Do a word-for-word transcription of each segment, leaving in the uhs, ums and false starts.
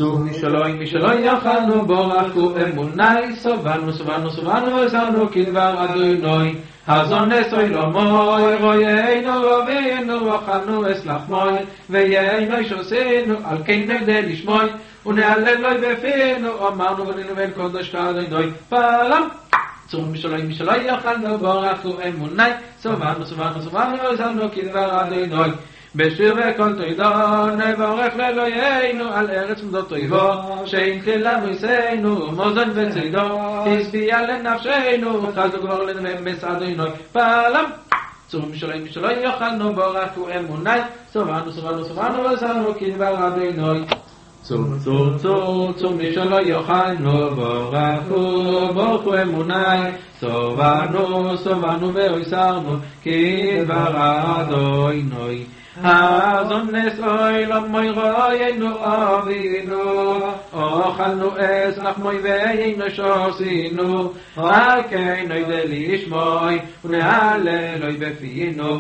צור משלוי משלוי יכלנו בורכו אמוני סובנו סובנו סובנו וזרנו כדבר אדוני הזון נסוי לא מוי רוינו רבינו וחנו אסלח מוי ויינו שעשינו על כן נגדי לשמוי ונעלב לוי בפינו אמרנו ונינו בין קודש כאדוני פעלם צור משלוי משלוי יכלנו בורכו אמוני סובנו סובנו סובנו וזרנו כדבר אדוני בשיר וכל תוידו נבורך לאלוהינו על ארץ מודות טויבו שהנחילה מויסנו מוזן וצידו הסביע לנפשנו חזו כבר לנמס אדוני פעלם צור משלוי משלוי יכלנו בורכו אמוני סובנו סובנו סובנו וזרנו כדבר אדוני צור צור צור צור משלוי יכלנו בורכו בורכו אמוני סובנו סובנו והסרנו כדבר אדוני הזון נסוי לא מוי רוינו אבינו אוכלנו אסלח מוי ויינו שעשינו על כן נוידע לשמוי ונהללוי בפינו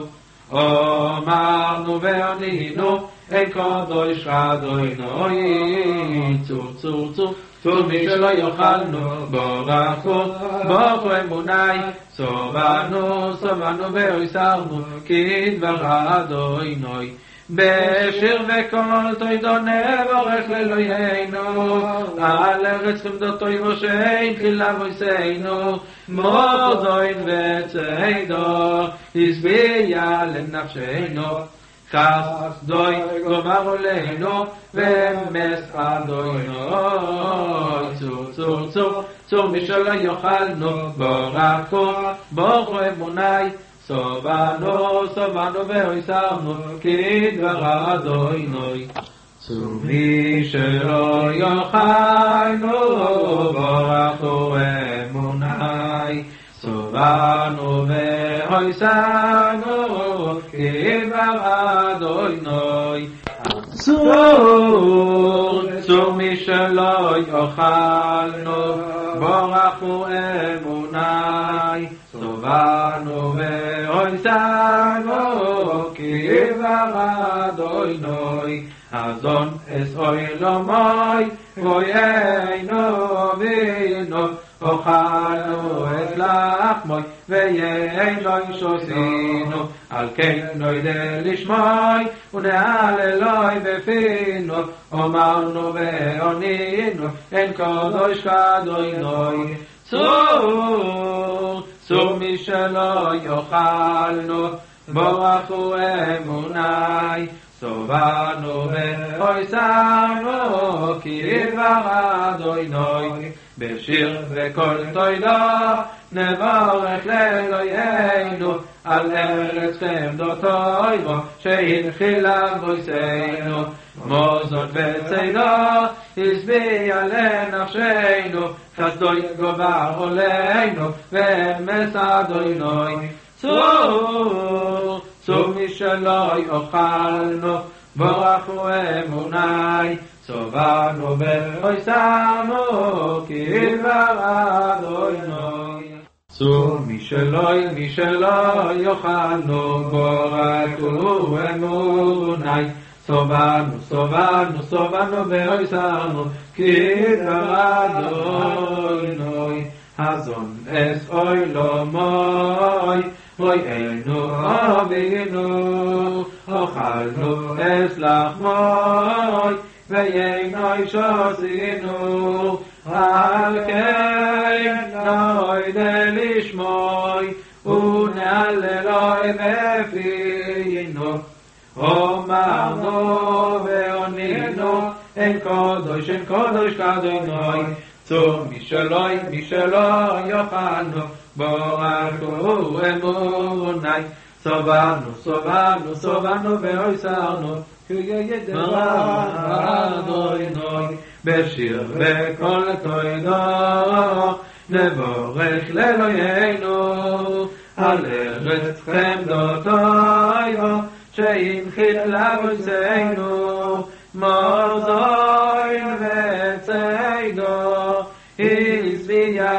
אמרנו וענינו אין קודש אדוני צור צור צור צור משלו יאכלנו בורכו בורכו אמוני סובנו סובנו והסרנו כדבר אדוני בשיר וכל תוידו נבורך לאלוהינו על ארץ חמדות טויבו שהנחילה מויסנו מוזן וצידו הסביע לנפשנו חסדוי גמר עלינו ומס אדוני צור צור צור צור משלו יאכלנו בורכו בורכו אמוני סובנו סובנו והסרנו כדבר אדוני צור משלו יאכלנו בורכו אמוני סובנו והסרנו כדבר אדוני צור צור משלו יאכלנו בורכו אמוני סובנו והסרנו כדבר אדוני הזון אסוי לא מוי רוינו וינו אוכלנו את לחמוי ויינו שעשינו על כן נוידע לשמוי ונהללוי בפינו אמרנו וענינו אין קודש כאדוני צור צור משלו יאכלנו בורכו אמוני סובנו והסרנו כדבר אדוני בשיר וכל תוידו נבורך לאלוהינו על ארץ חמדות טויבו שהנחילה מויסנו מוזן וצידו הסביע לנפשנו חסדוי גבר עלינו ומס אדוני צור צור משלו יאכלנו בורכו אמוני סובנו והסרנו כדבר אדוני צור משלוי משלו יאכלנו בורכו אמוני סובנו סובנו סובנו והסרנו כדבר אדוני הזון אסוי לא מוי רוינו אבינו אוכלנו אסלח מוי ויינו שעשינו על כן נוידע לשמוי ונהללוי בפינו אמרנו וענינו אין קודש אין קודש כאדוני צור משלוי משלו יאכלנו בורכו אמוני סובנו סובנו סובנו והסרנו כדבר אדוני בשיר וכל תוידו נבורך לאלוהינו על ארץ חמדות טויבו שהנחילה מויסנו מוזן וצידו הסביע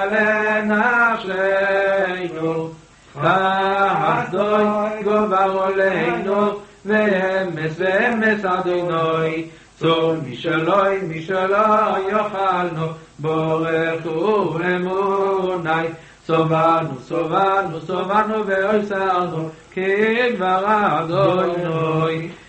לנפשנו חסדוי גבר עלינו ואמס ואמס אדוני צור משלוי משלוי יאכלנו בורכו אמוני סובנו סובנו סובנו ואוסרנו כדבר אדוני